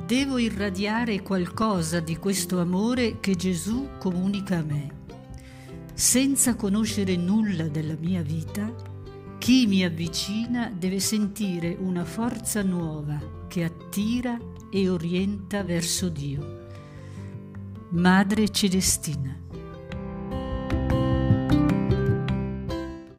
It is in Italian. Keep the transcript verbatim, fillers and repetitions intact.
Devo irradiare qualcosa di questo amore che Gesù comunica a me. Senza conoscere nulla della mia vita, chi mi avvicina deve sentire una forza nuova che attira e orienta verso Dio. Madre Celestina.